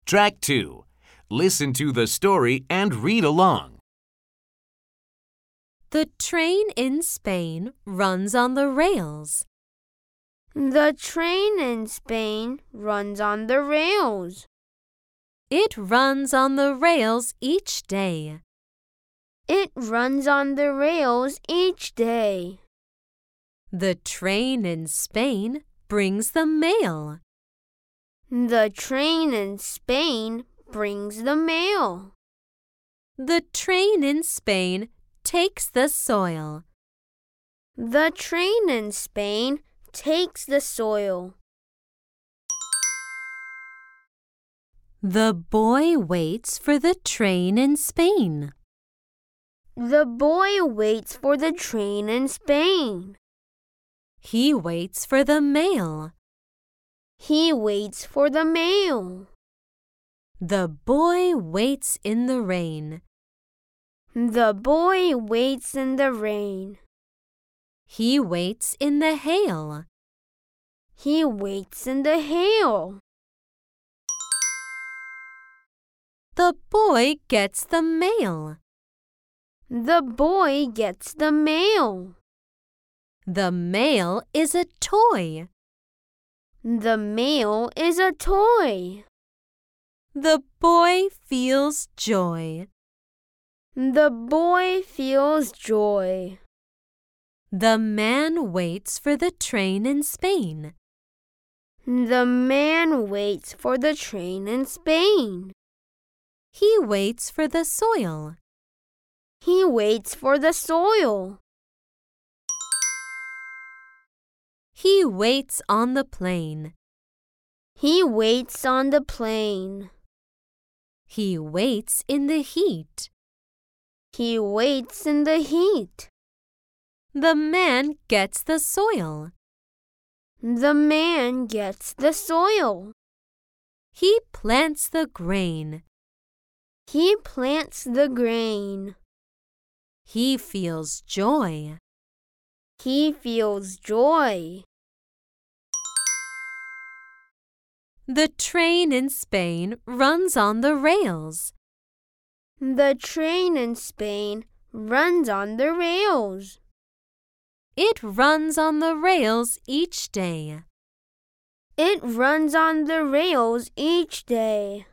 Track 2. Listen to the story and read along. The train in Spain runs on the rails. The train in Spain runs on the rails. It runs on the rails each day. It runs on the rails each day. The train in Spain brings the mail. The train in Spain brings the mail. The train in Spain takes the soil. The train in Spain takes the soil. The boy waits for the train in Spain. The boy waits for the train in Spain. He waits for the mail. He waits for the mail. The boy waits in the rain. The boy waits in the rain. He waits in the hail. He waits in the hail. The boy gets the mail. The boy gets the mail. The mail is a toy. The mail is a toy. The boy feels joy. The boy feels joy. The man waits for the train in Spain. The man waits for the train in Spain. He waits for the soil. He waits for the soil. He waits on the plain. He waits on the plain. He waits in the heat. He waits in the heat. The man gets the soil. The man gets the soil. He plants the grain. He plants the grain. He feels joy. He feels joy. The train in Spain runs on the rails. The train in Spain runs on the rails. It runs on the rails each day. It runs on the rails each day.